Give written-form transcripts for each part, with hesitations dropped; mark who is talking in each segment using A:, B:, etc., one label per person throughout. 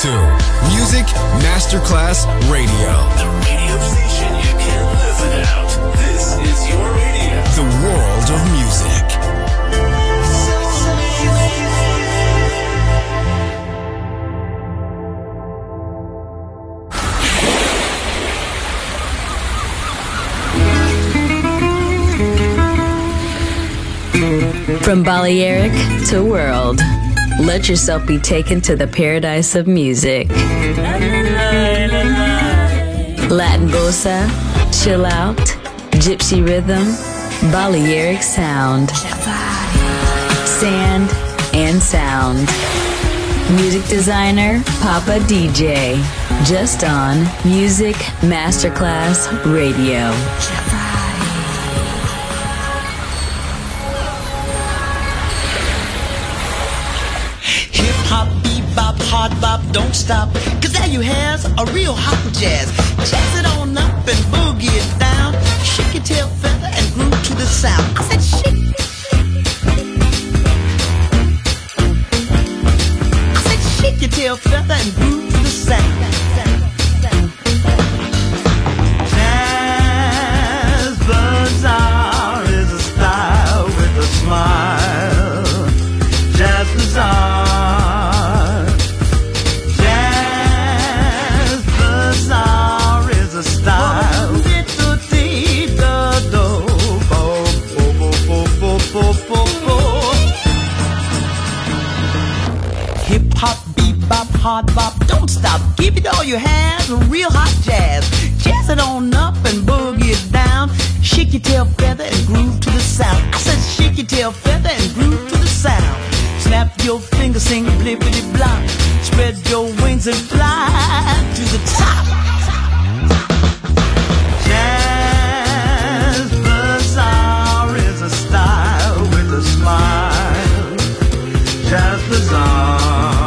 A: to Music Masterclass Radio.
B: The radio station you can't live without. This is your radio.
A: The world of music.
C: From Balearic to world, let yourself be taken to the paradise of music. Latin bossa, chill out, gypsy rhythm, Balearic sound, sand and sound. Music designer, Papa DJ, just on Music Masterclass Radio.
D: Hard bop, don't stop, cause there you has a real hot jazz. Jazz it on up and boogie it down. Shake your tail feather and groove to the sound. I said shake. I said shake your tail feather and groove to the sound. Jazz Bazaar is a style with a smile. Jazz Bazaar. Hard bop, don't stop, give it all you have, real hot jazz. Jazz it on up and boogie it down. Shake your tail feather and groove to the sound. I said shake your tail feather and groove to the sound. Snap your fingers, sing blippity blop. Spread your wings and fly to the top. Jazz Bazaar is a style with a smile. Jazz Bazaar.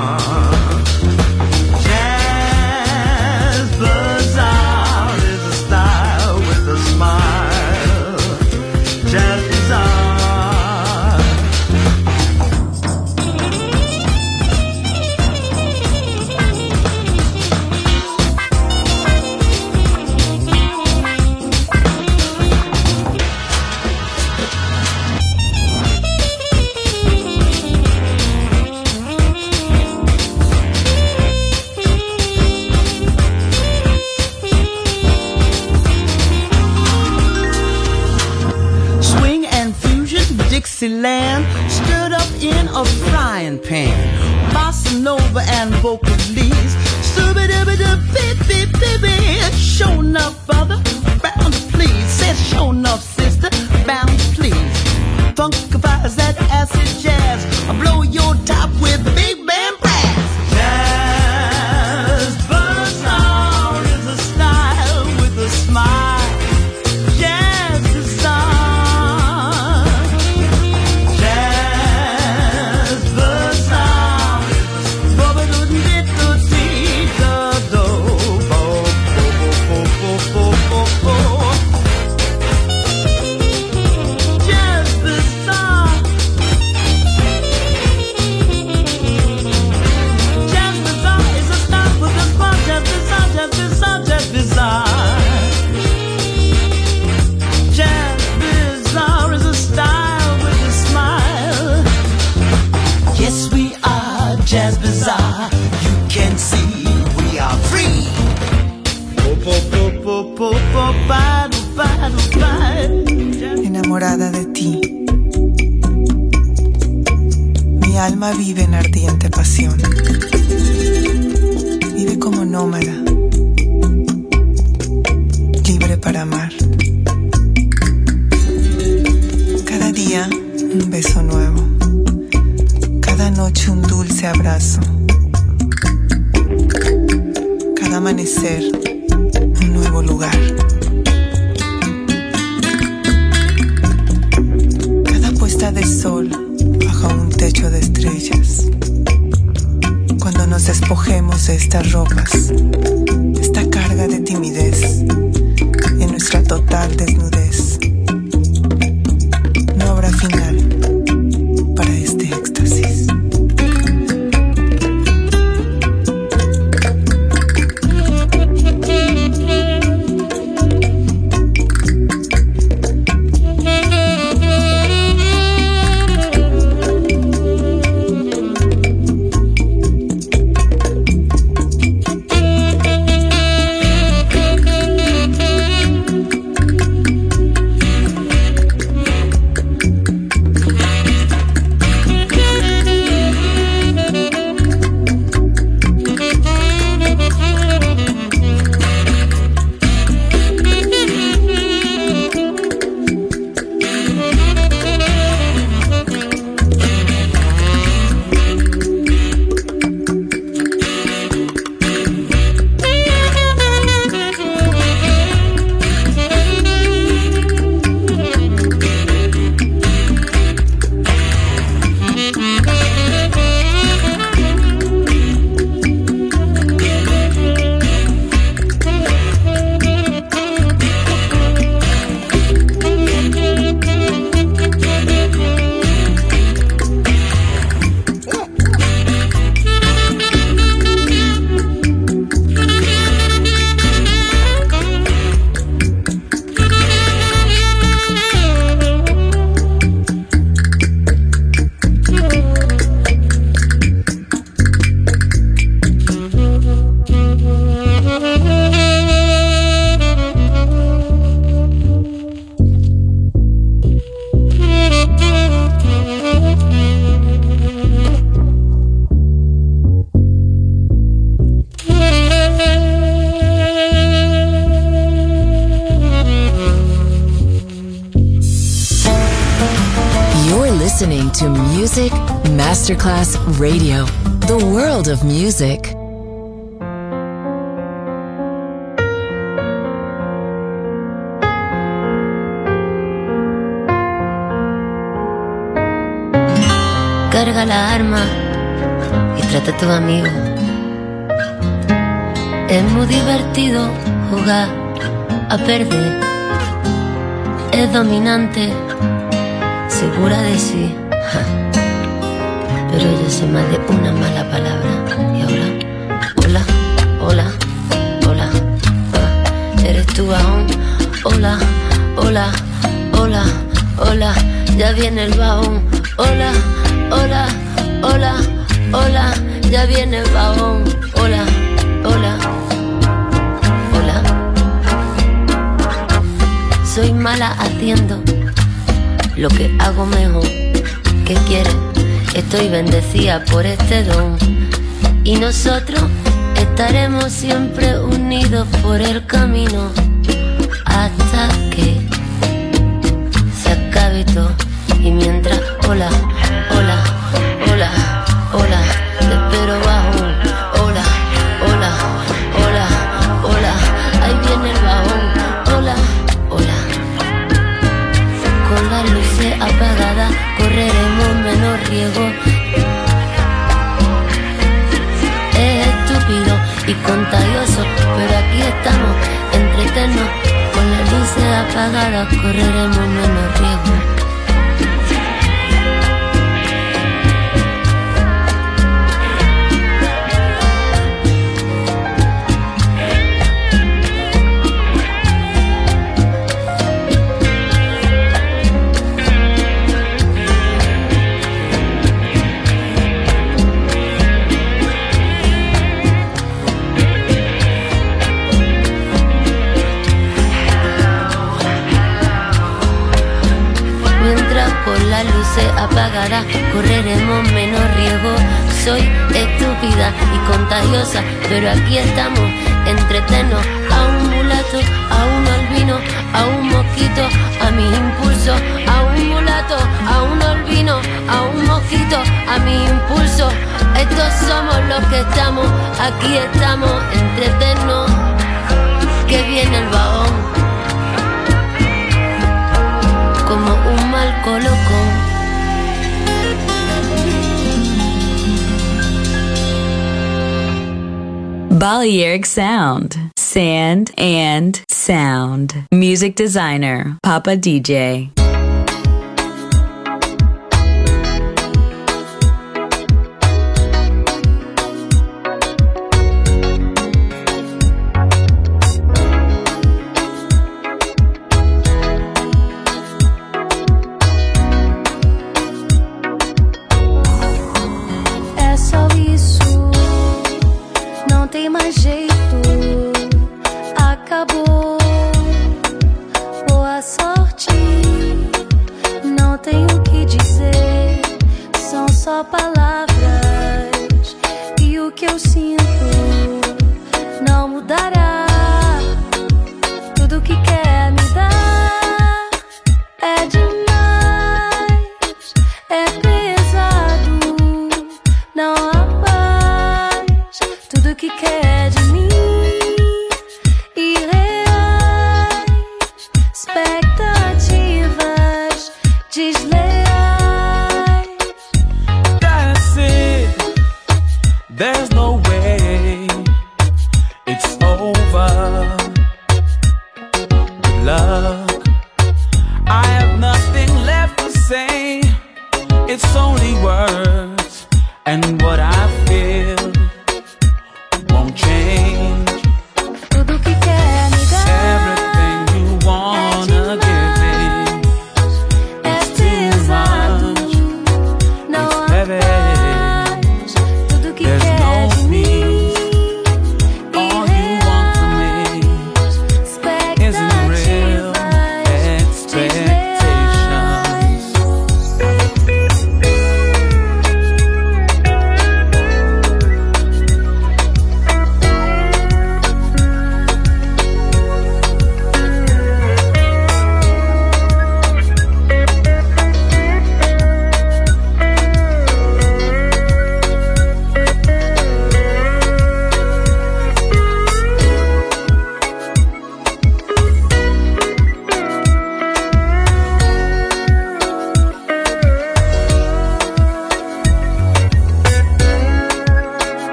D: Dixieland stirred up in a frying pan. Bossa Nova and vocalese. Show enough, brother, bound to please. Said show enough, sister, bound to please. Funkifies that acid jazz. Blow your top with big band brass. Jazz Bazaar is a style with a smile. Jazz Bazaar, you can see we are free.
E: Enamorada de ti, mi alma vive en ardiente pasión. Vive como nómada, libre para amar. Cada día un beso nuevo. Cada noche un dulce abrazo. Cada amanecer un nuevo lugar. Cada puesta de sol bajo un techo de estrellas. Cuando nos despojemos de estas ropas, esta carga de timidez, en nuestra total desnudez, no habrá final para este éxtasis.
C: Music Masterclass Radio. The world of music.
F: Carga la arma y trata a tu amigo. Es muy divertido jugar a perder. Es dominante, segura de sí. Pero ella se más de una mala palabra. Y ahora, hola, hola, hola, hola. ¿Eres tú aún? Hola, hola, hola, hola. Ya viene el bajón. Hola, hola, hola, hola. Ya viene el bajón. Hola, hola, hola. Soy mala haciendo lo que hago mejor. ¿Qué quieres? Estoy bendecida por este don. Y nosotros estaremos siempre unidos por el camino hasta que se acabe todo. Y mientras, hola, hola, hola, hola, te espero bajón. Hola, hola, hola, hola, ahí viene el bajón. Hola, hola. Con las luces apagadas correremos menos riesgo. Es estúpido y contagioso, pero aquí estamos, entretenos. Con las luces apagadas correremos menos riesgo. Apagada, correremos menos riesgo. Soy estúpida y contagiosa, pero aquí estamos, entretenos. A un mulato, a un albino, a un mosquito, a mis impulsos. A un mulato, a un albino, a un mosquito, a mis impulsos. Estos somos los que estamos, aquí estamos, entretenos. Que viene el bajón, como un mal colocón.
C: Balearic Sound. Sand and Sound. Music designer, Papa DJ.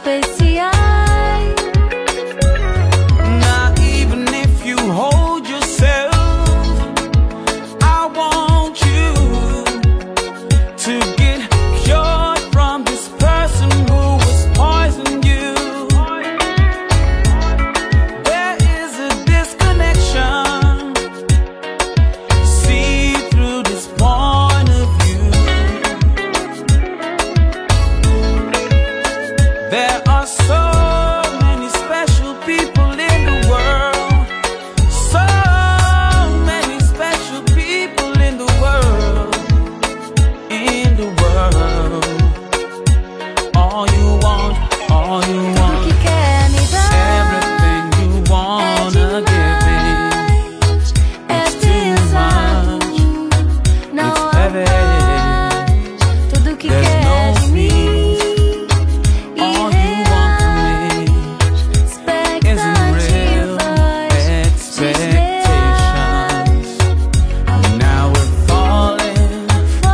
F: especial.
D: Now even if you hold yourself, I want you to get cured from this person who was poisoning you. There is a disconnection. See through this point of view. There are so many special people in the world. So many special people in the world. In the world. All you want, all you
F: Tudo
D: want.
F: que quer me dar
D: Everything you wanna give me.
F: é
D: It's too
F: pesado,
D: much.
F: não
D: It's
F: há
D: heavy.
F: mais. Tudo que
D: There's
F: quer
D: no
F: de mim,
D: All you want from me isn't real expectations. Now we're falling,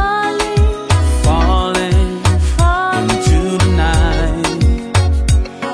D: falling into the night.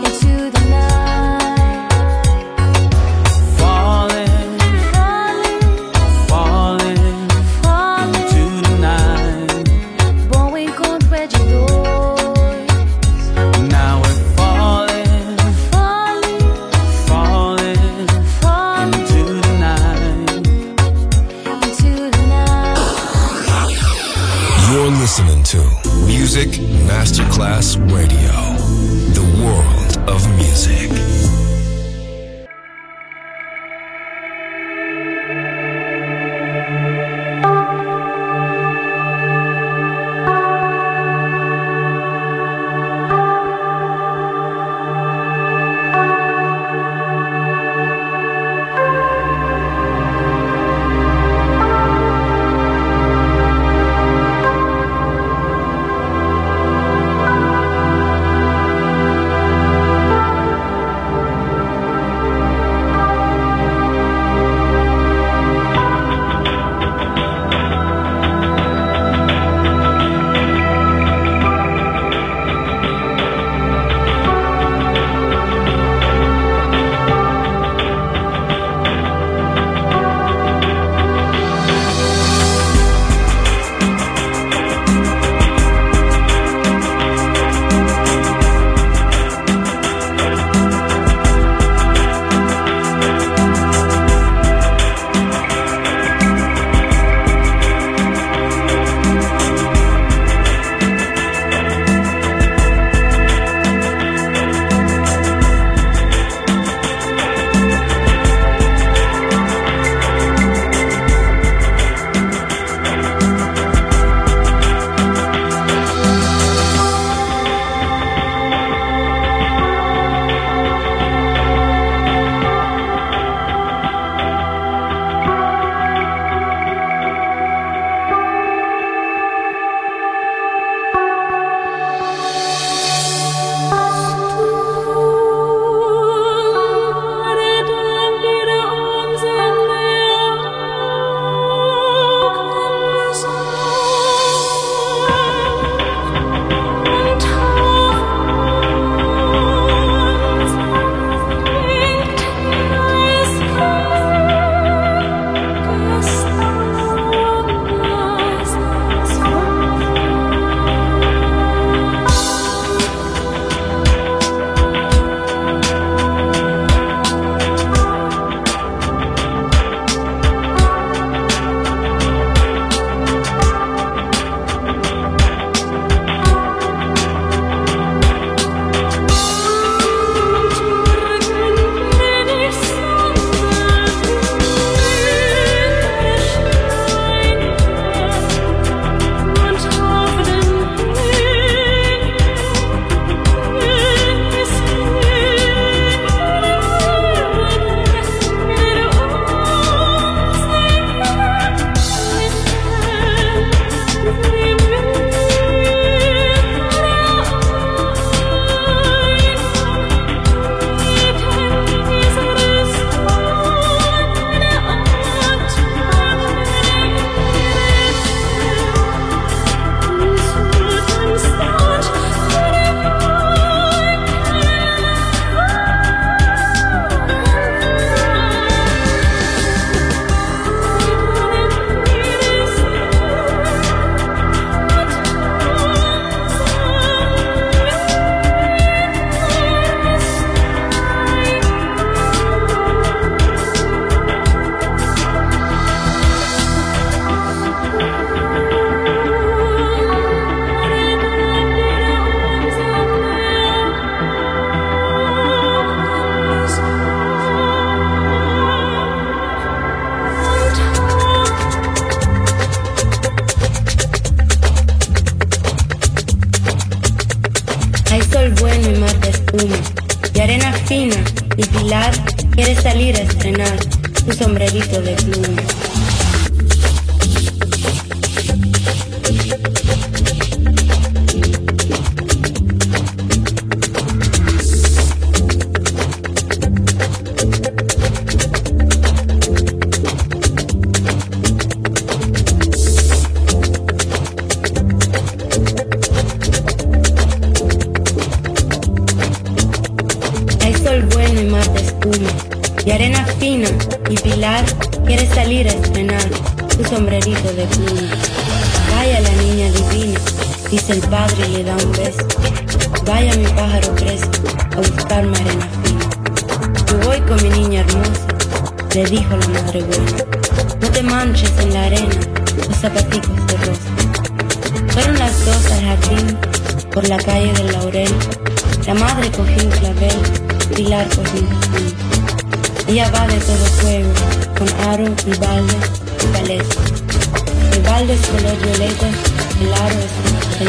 G: bueno y mar de espuma, y arena fina, y Pilar quiere salir a estrenar su sombrerito de pluma.
H: Y arena fina, y Pilar quiere salir a estrenar su sombrerito de pluma. Vaya la niña divina, dice el padre y le da un beso. Vaya mi pájaro preso a buscarme arena fina. Yo voy con mi niña hermosa, le dijo la madre buena. No te manches en la arena, los zapaticos de rosa. Fueron las dos al jardín, por la calle del Laurel. La madre cogió un clavel, Pilar cogió un jazmín. Ella va de todo fuego, con aro y balde y paleta. El balde es color violeta, el aro es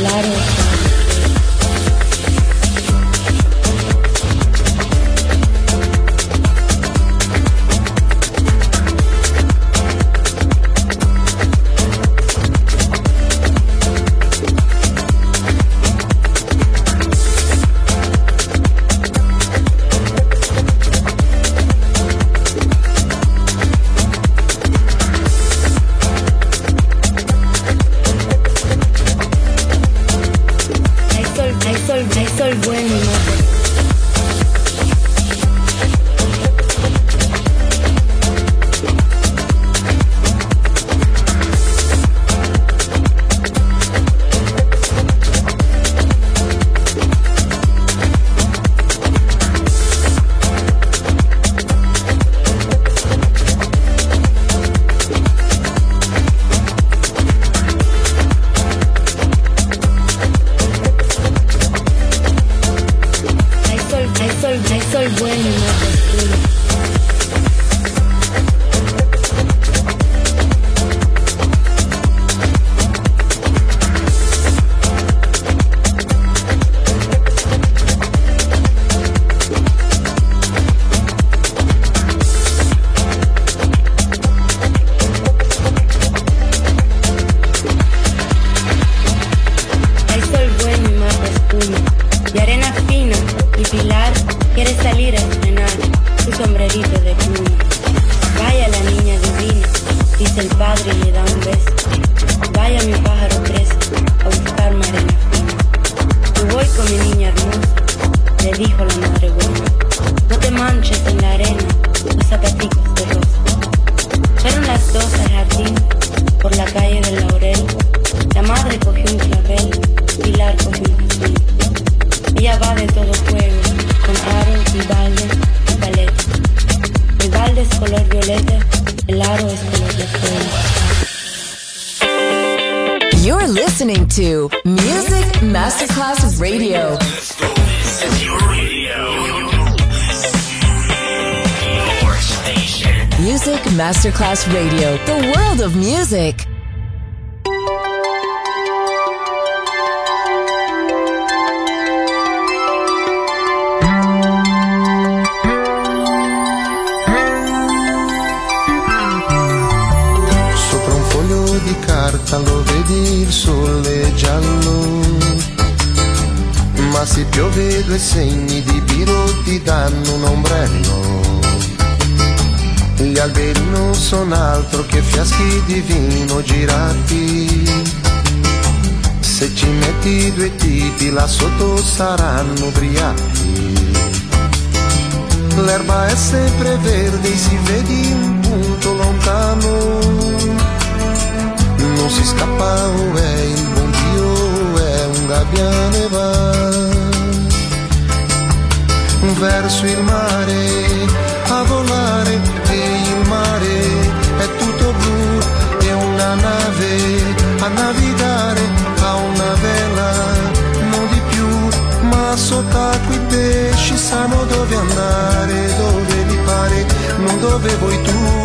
H: de fuego.
C: You're listening to Music Masterclass Radio.
B: This is your radio. Your station.
C: Music Masterclass Radio. The world of music.
I: Lo vedi il sole giallo, ma se piove due segni di biro ti danno un ombrello. Gli alberi non sono altro che fiaschi di vino girati, se ci metti due tipi là sotto saranno ubriachi. L'erba è sempre verde, si vedi un punto lontano. Non si scappa, oh, è il buon Dio, è un gabbiane va verso il mare a volare, e il mare è tutto blu, e una nave a navigare ha una vela, non di più, ma sott'acqua i pesci sanno dove andare, dove li pare, non dove vuoi tu.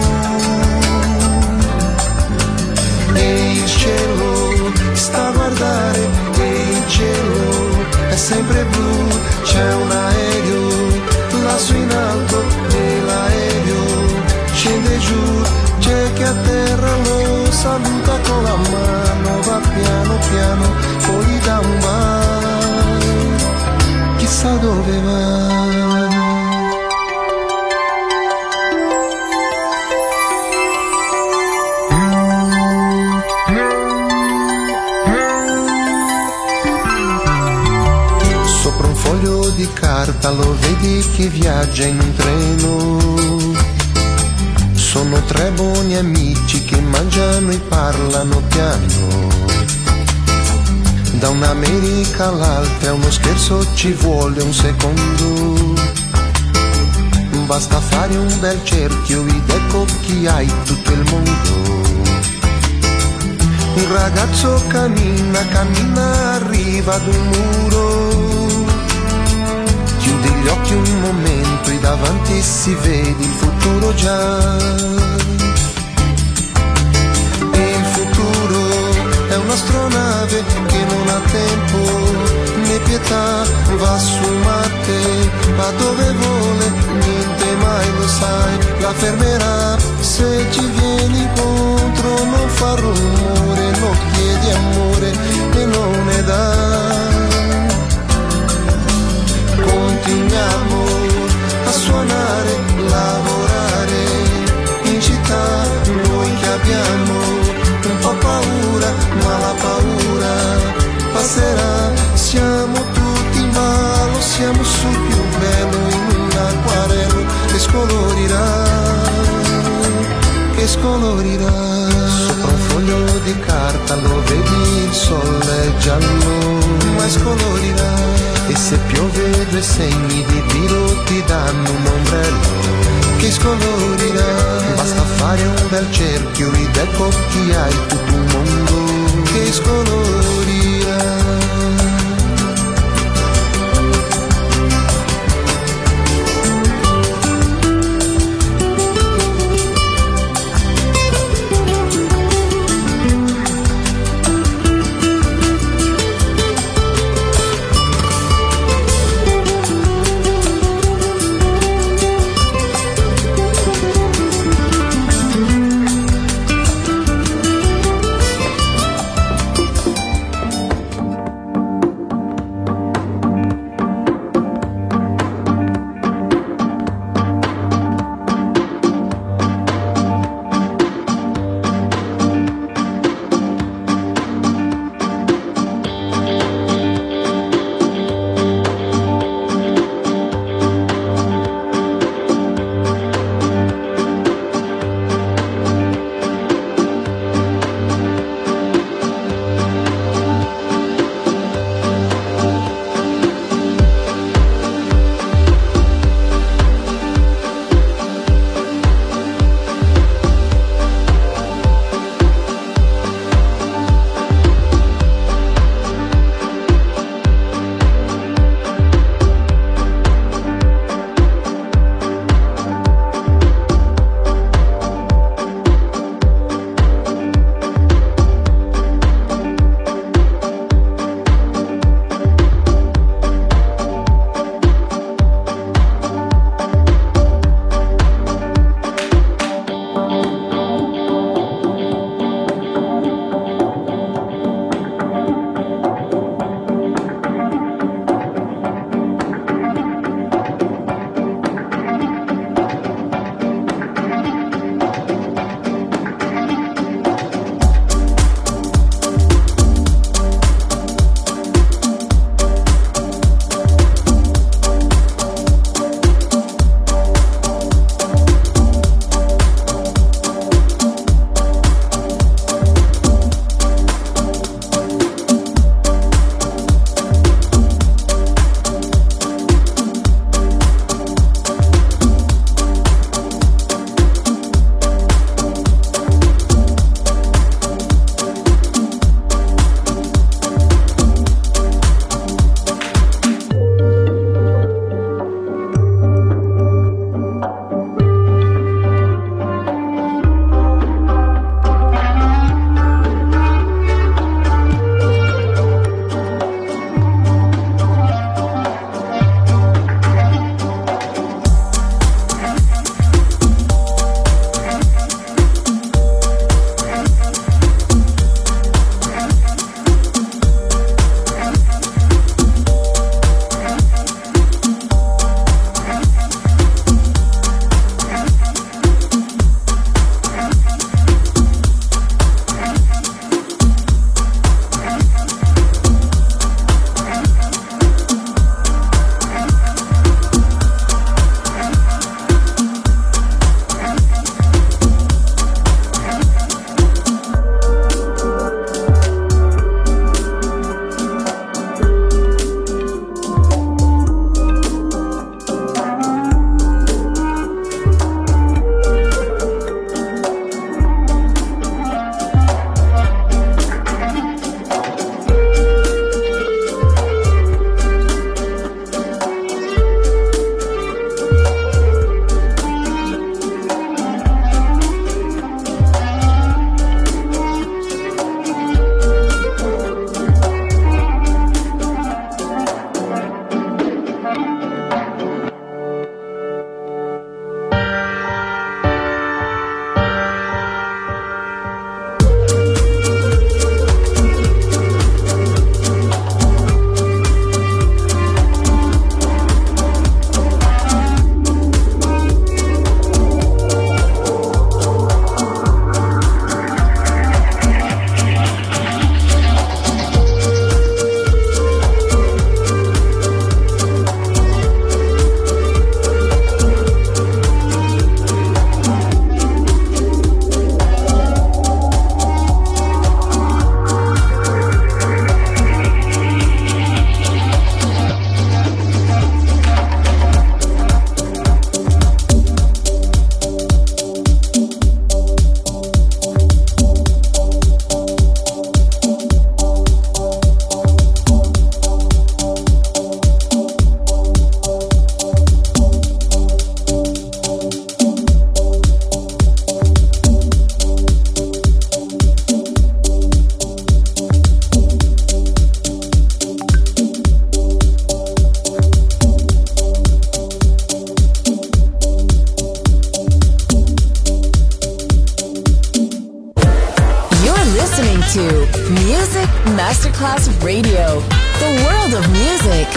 I: E il cielo sta a guardare, e il cielo è è sempre blu, c'è un aereo lassù in alto e l'aereo scende giù, c'è che a terra lo saluta con la mano, va piano piano, poi gli dà un bacio, chissà dove va. Di carta lo vedi che viaggia in un treno, sono tre buoni amici che mangiano e parlano piano, da un'America all'altra uno scherzo ci vuole un secondo, basta fare un bel cerchio ed ecco chi hai tutto il mondo. Un ragazzo cammina, cammina, arriva ad un muro, chiudi gli occhi un momento e davanti si vede il futuro già. E il futuro è un'astronave che non ha tempo né pietà, va su Marte, va dove vuole, niente mai lo sai, la fermerà. Se ci vieni incontro non fa rumore, non chiedi amore e non ne dà. Continuiamo a suonare, lavorare in città, noi che abbiamo un po' paura, ma la paura passerà, siamo tutti in ballo, siamo sul più bello in un acquarello che scolorirà, che scolorirà. Sopra un foglio di carta lo vedi, il sole è giallo, ma scolorirà. E se piove due segni di tiro ti danno un ombrello che scolorirà. Basta fare un bel cerchio ed ecco chi hai tutto un mondo che scolorirà.
C: Masterclass Radio, the world of music.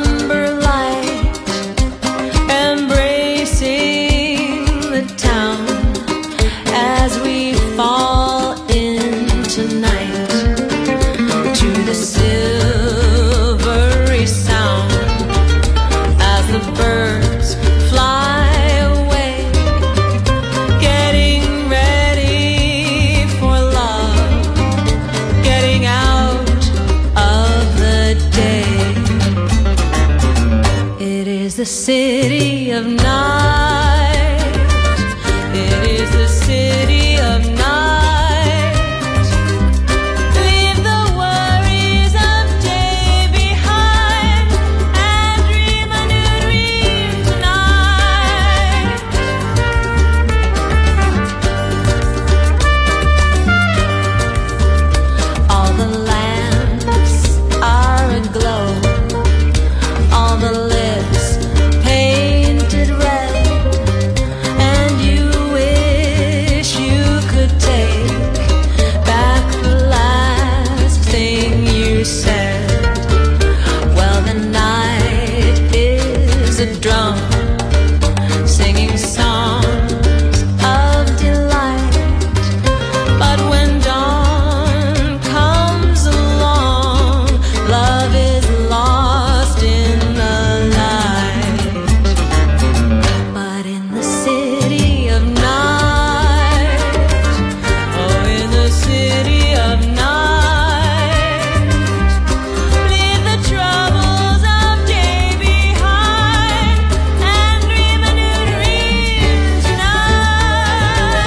J: town. the city of night. It is the city of night. Leave the worries of day behind and dream a new dream tonight. All the lamps are aglow. All the lips painted red, and you wish you could take back the last thing you said. Well, the night is a drum singing songs of delight, but when dawn comes along, love is lost in the night. But in the city of night, oh, in the city of night, leave the troubles of day behind and dream a new dream tonight.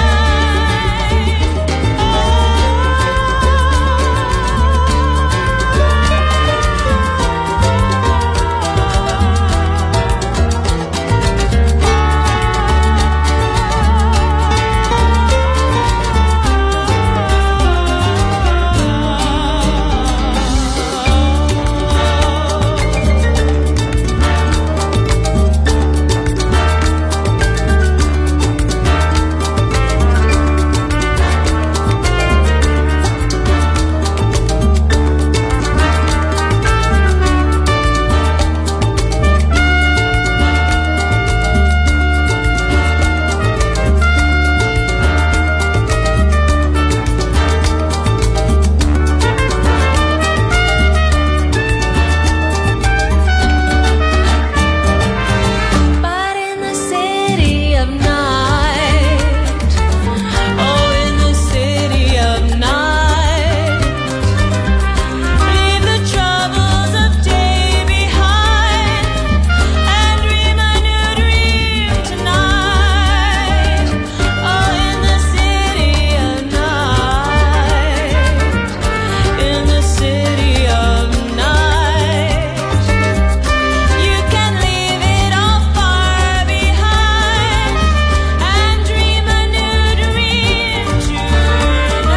J: But in the city of night, oh, in the city of night, leave the troubles of day behind and dream a new dream tonight. Oh, in the city of night, in the city of night, you can leave it all far behind and dream a new dream tonight.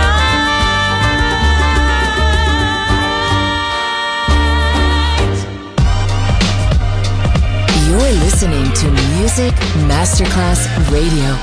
C: You're listening to Music Masterclass Radio.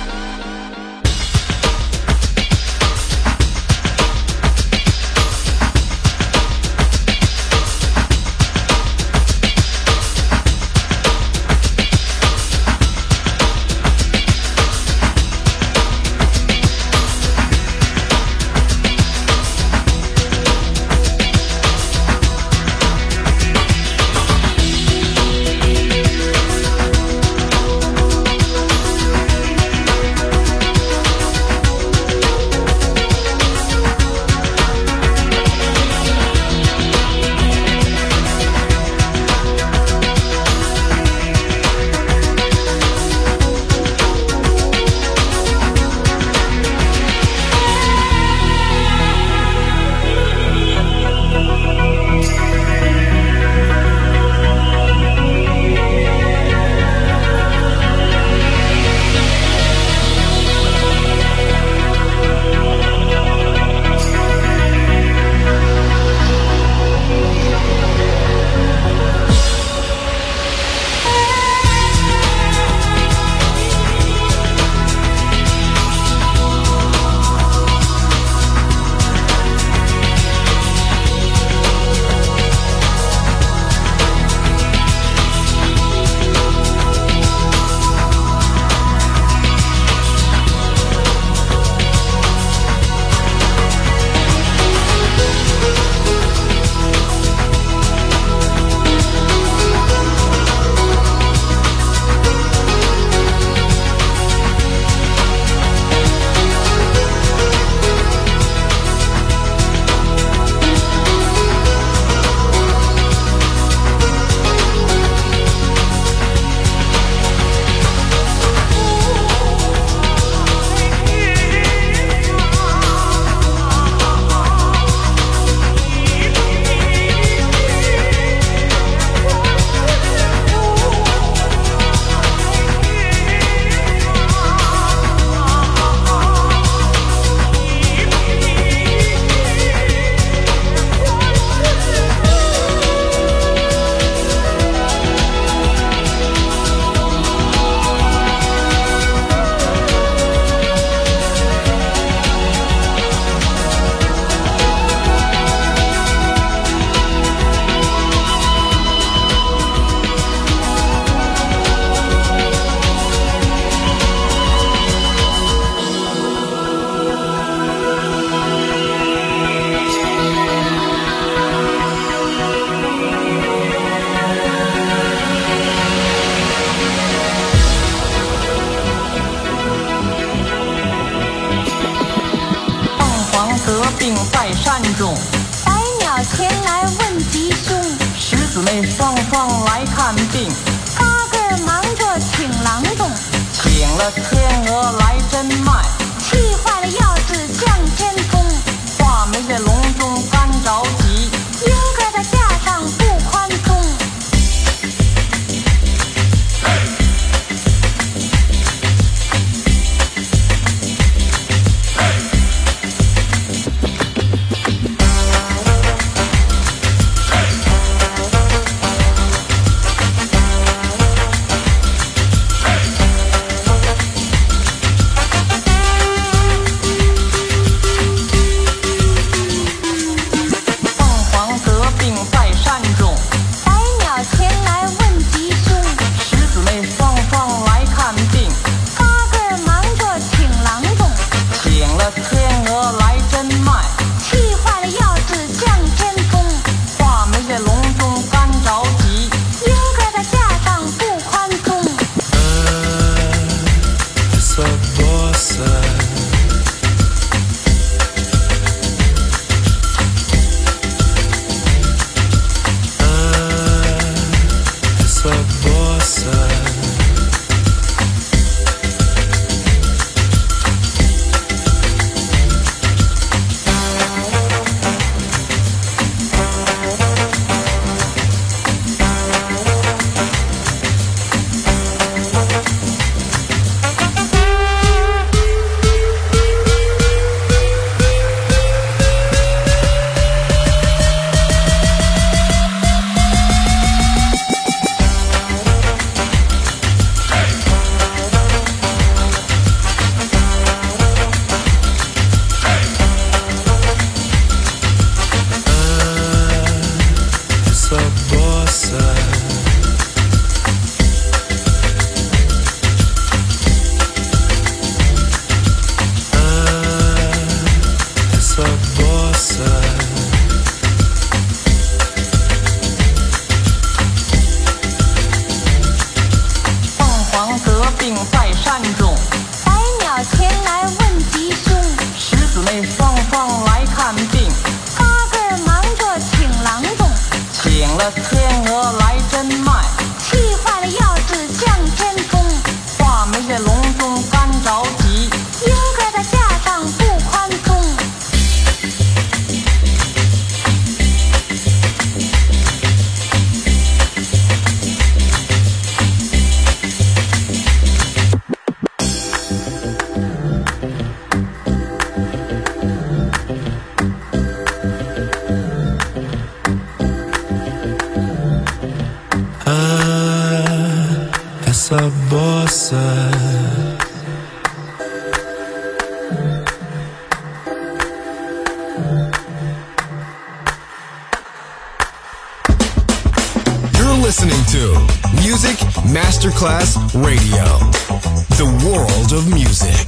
K: 前来问吉凶，
D: 十姊妹双双来看病，
K: 八个忙着请郎中，
D: 请了天鹅来针脉，
K: 气坏了药子向天冲，
D: 话没在笼中干着急，
K: 应该在架上不宽松。
A: Listening to Music Masterclass Radio, the world of music.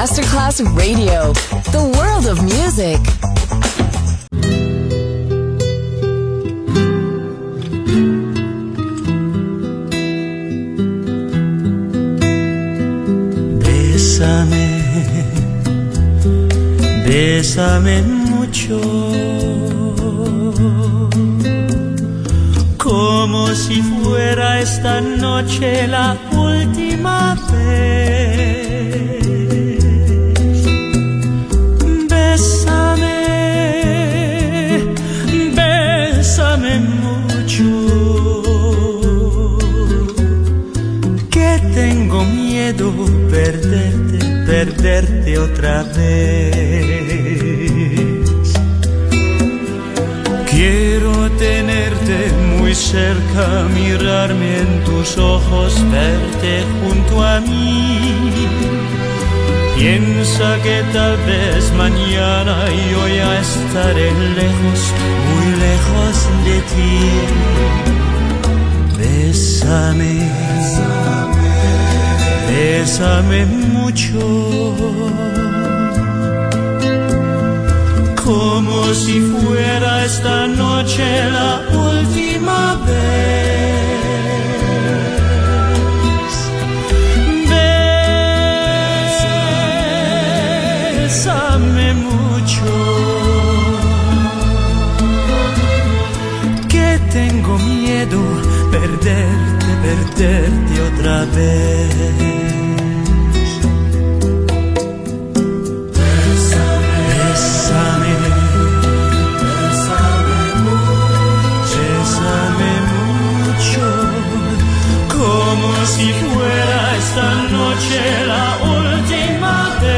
L: Masterclass Radio, the world of music.
M: Bésame mucho, como si fuera esta noche la última vez. Bésame, bésame mucho, que tengo miedo perderte otra vez. Quiero tenerte muy cerca, mirarme en tus ojos, verte junto a mí. Piensa que tal vez mañana yo ya estaré lejos, muy lejos de ti. Bésame, bésame mucho, como si fuera esta noche la última vez. Bésame mucho, que tengo miedo perderte otra vez. Como si fuera esta noche la última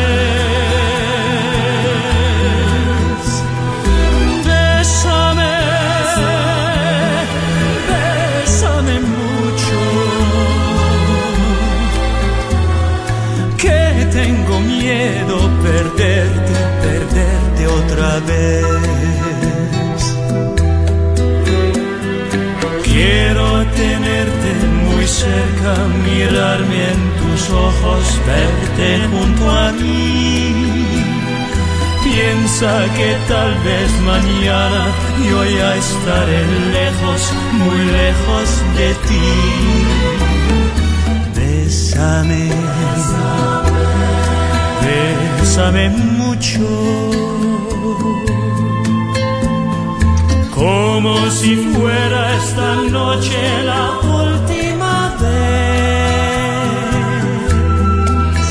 M: vez. Bésame, bésame mucho, que tengo miedo perderte otra vez. Quiero tenerte muy cerca, mirarme en tus ojos, verte junto a mí. Piensa que tal vez mañana yo ya estaré lejos, muy lejos de ti. Bésame, bésame mucho, como si fuera esta noche la última vez.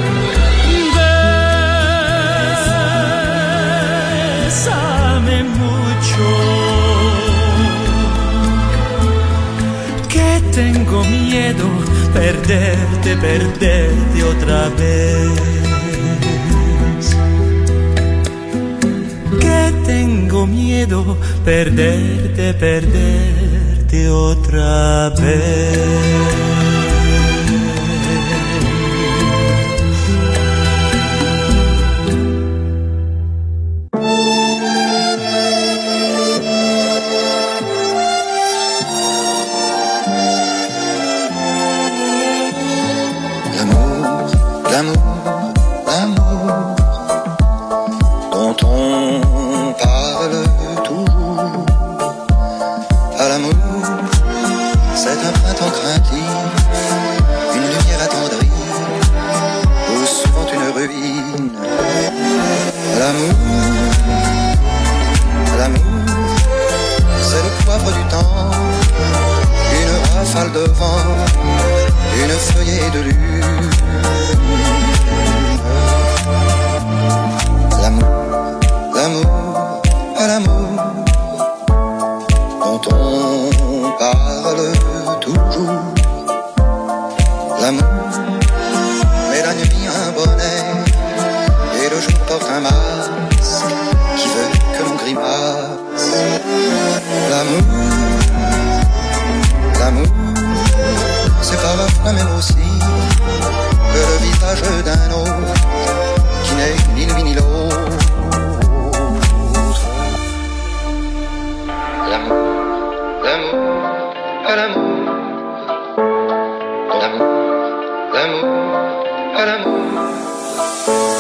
M: Bésame mucho, que tengo miedo perderte otra vez. Tengo miedo perderte otra vez.
N: L'amour, l'amour, l'amour dont on parle toujours. À l'amour, c'est un printemps craintif, une lumière attendrie, ou souvent une ruine. L'amour, c'est le poivre du temps, une rafale de vent, une feuillée de lune. L'amour, à l'amour dont on parle toujours. L'amour met la nuit un bonnet et le jour porte un masque qui veut que l'on grimace. L'amour, c'est parfois même aussi que le visage d'un autre qui n'est ni lui ni l'autre. L'amour, à l'amour, l'amour, à l'amour.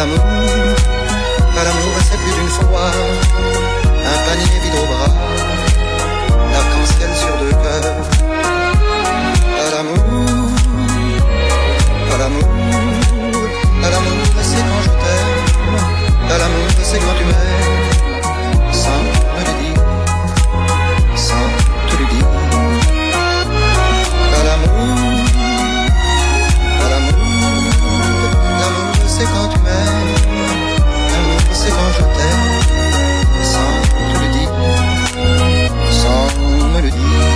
N: À l'amour, c'est plus d'une fois un panier vide au bras, l'arc-en-ciel sur deux cœurs. À l'amour, à l'amour, à l'amour, c'est quand je t'aime. À l'amour, c'est quand tu m'aimes, sans me le dire, sans te le dire. À l'amour, l'amour, c'est quand tu m'aimes. L'amour, c'est quand je t'aime, sans te le dire, sans me le dire.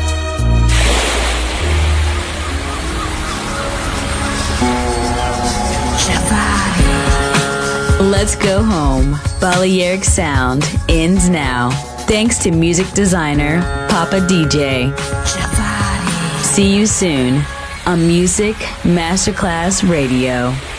C: Let's go home. Balearic Sound ends now. Thanks to music designer Papa DJ. See you soon on Music Masterclass Radio.